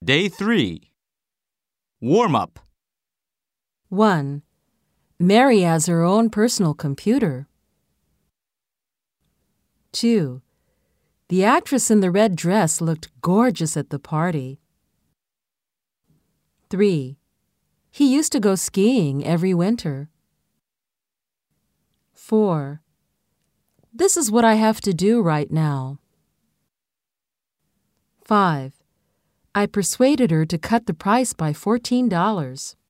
Day 3. Warm up. 1. Mary has her own personal computer. 2. The actress in the red dress looked gorgeous at the party. 3. He used to go skiing every winter. 4. This is what I have to do right now. 5. I persuaded her to cut the price by $14.